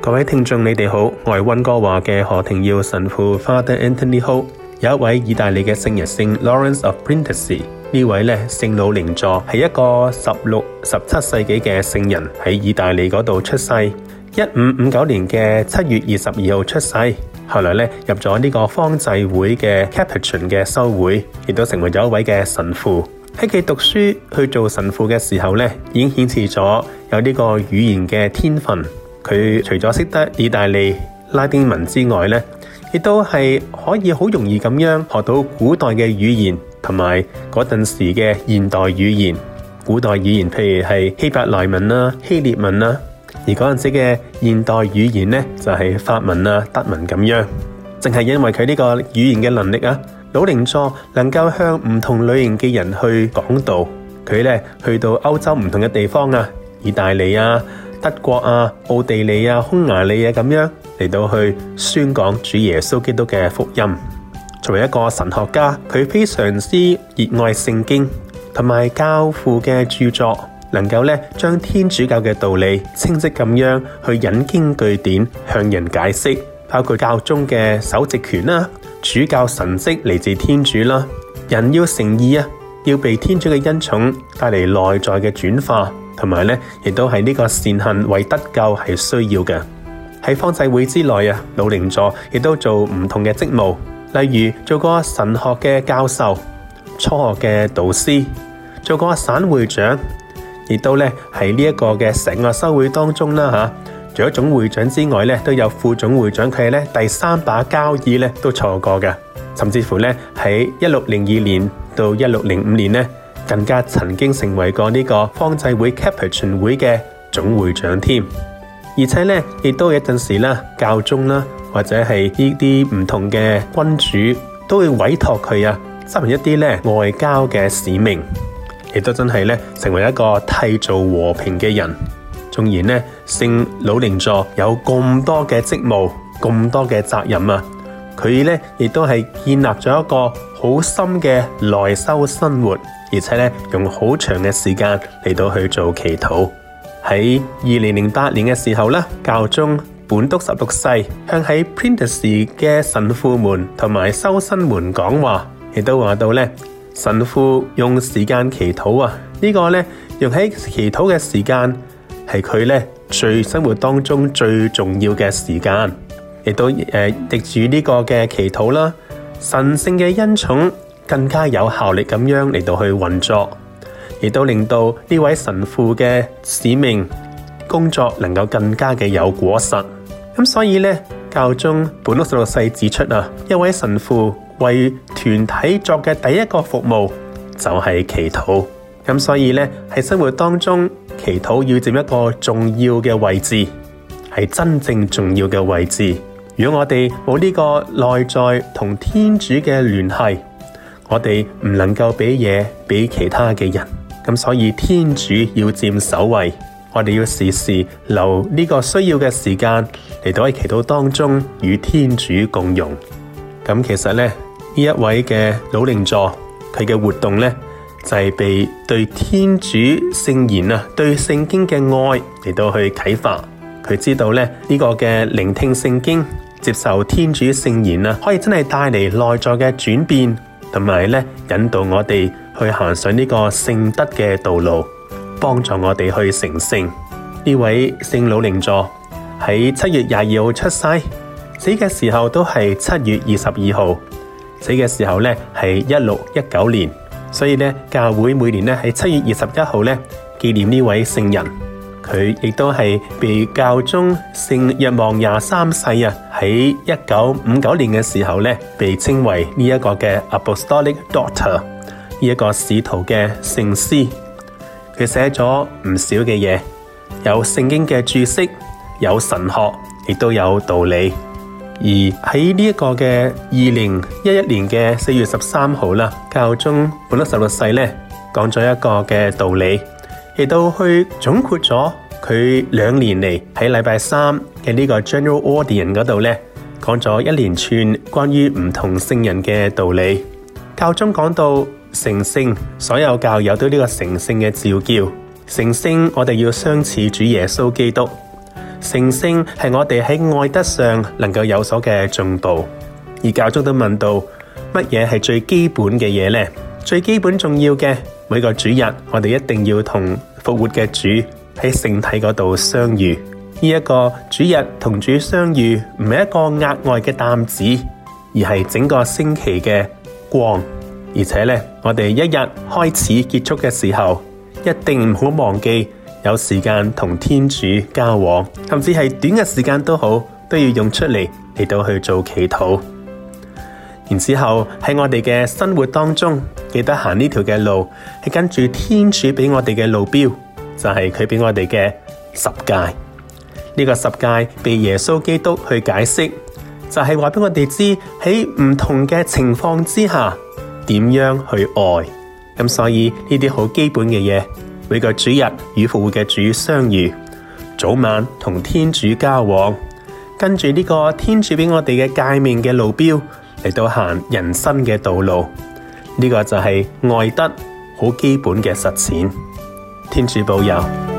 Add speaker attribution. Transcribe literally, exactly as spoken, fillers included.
Speaker 1: 各位聽眾，你哋好，我係溫哥華嘅何庭耀神父 Father Anthony Ho。有一位意大利嘅聖人聖 Lawrence of Brindisi， 呢位咧聖魯寧佐係一個十六、十七世紀嘅聖人，喺意大利嗰度出世。一五五九年嘅七月二十二號出世，後來咧入咗呢個方濟會嘅 Capuchin 嘅修會，亦都成為咗一位嘅神父。喺佢讀書去做神父嘅時候咧，已經顯示咗有呢個語言嘅天分。佢除咗識得意大利拉丁文之外咧，亦都係可以好容易咁樣學到古代嘅語言，同埋嗰陣時嘅現代語言。古代語言譬如係希伯來文啦、希臘文啦，而嗰陣時嘅現代語言咧就係法文啊、德文咁樣。正係因為佢呢個語言嘅能力啊，魯寧佐能夠向唔同類型嘅人去講道。佢咧去到歐洲唔同嘅地方啊，意大利啊、德國啊、奧地利啊、匈牙利啊咁樣嚟到去宣講主耶穌基督嘅福音。作為一個神學家，佢非常之熱愛聖經同埋教父嘅著作，能夠咧將天主教嘅道理清晰咁樣去引經據典向人解釋，包括教宗嘅首席權啦、主教神蹟嚟自天主啦，人要誠意啊，要被天主嘅恩寵帶嚟內在嘅轉化。同埋咧，亦都係呢個善行為得救係需要嘅。喺方濟會之內啊，魯寧佐亦都做唔同嘅職務，例如做過神學嘅教授、初學嘅導師，做過省會長，亦都咧喺呢一個嘅成個修會當中啦吓。除咗總會長之外咧，都有副總會長，佢係咧第三把交椅咧都坐過嘅，甚至乎咧喺一六零二年到一六零五年咧，更加曾經成為過呢個方濟會 Capuchin 會嘅總會長添，而且咧亦都有一陣時啦，教宗啦或者係呢啲唔同嘅君主都會委託佢啊，執行一啲咧外交嘅使命，亦都真係咧成為一個締造和平嘅人。縱然咧聖魯寧佐有咁多嘅職務、咁多嘅責任啊，佢咧亦都係建立咗一個好深嘅內修生活。而且咧，用好長嘅時間嚟到去做祈禱。喺二零零八年嘅時候咧，教宗本篤十六世向喺 Brindisi 嘅神父們同埋修生們講話，亦都話到咧，神父用時間祈禱啊，這個、呢個咧用喺祈禱嘅時間係佢咧最生活當中最重要嘅時間，亦都誒藉住呢個嘅祈禱啦，神聖嘅恩寵更加有效力咁樣嚟到去運作，亦都令到呢位神父嘅使命工作能夠更加嘅有果實。咁所以咧，教宗本篤十六世指出啊，一位神父為團體作嘅第一個服務就係祈禱。咁所以咧，喺生活當中，祈禱要佔一個重要嘅位置，係真正重要嘅位置。如果我哋冇呢個內在同天主嘅聯繫，我哋唔能夠俾嘢俾其他嘅人，咁所以天主要佔首位，我哋要時時留呢個需要嘅時間嚟到喺祈禱當中與天主共融。咁其實咧，呢一位嘅魯寧佐，佢嘅活動咧就係、是、被對天主聖言啊、對聖經嘅愛嚟到去啟發。佢知道咧呢、這個嘅聆聽聖經、接受天主聖言啊，可以真係帶嚟內在嘅轉變。同埋咧，引導我哋去行上呢個聖德嘅道路，幫助我哋去成聖。呢位聖魯寧佐喺七月廿二號出世，死嘅時候都係七月二十二號，死嘅時候咧係一六一九年。所以咧，教會每年咧喺七月二十一號咧紀念呢位聖人。佢亦都係被教宗聖若望廿三世啊喺一九五九年嘅時候咧，被稱為呢一個嘅 Apostolic Doctor， 呢一個使徒嘅聖師。佢寫咗唔少嘅嘢，有聖經嘅注釋，有神學，亦都有道理。而喺呢一個嘅二零一一年嘅四月十三號啦，教宗本篤十六世咧講咗一個嘅道理。亦都去總括咗佢兩年嚟喺禮拜三嘅呢個 General Audience 嗰度咧，講咗一連串關於唔同聖人嘅道理。教宗講到成聖，所有教友對呢個成聖嘅召叫。成聖，我哋要相似主耶穌基督。 成聖係我哋喺愛德上能夠有所嘅進步。而教宗都問到，乜嘢係最基本嘅嘢呢？最基本重要嘅，每個主日我哋一定要同復活嘅主喺聖體嗰度相遇。呢一個主日同主相遇唔係一個額外嘅擔子，而係整個星期嘅光。而且咧，我哋一日開始結束嘅時候，一定唔好忘記有時間同天主交往，甚至係短嘅時間都好，都要用出嚟嚟到去做祈禱。然之後喺我哋嘅生活當中，記得行呢條嘅路係跟住天主俾我哋嘅路標，就係佢俾我哋嘅十誡。呢個十誡被耶穌基督去解釋，就係話俾我哋知喺唔同嘅情況之下點樣去愛。咁所以呢啲好基本嘅嘢，每個主日與復活嘅主相遇，早晚同天主交往，跟住呢個天主俾我哋嘅誡命嘅路標嚟到行人生嘅道路。呢個就係愛德好基本嘅實踐。天主保佑。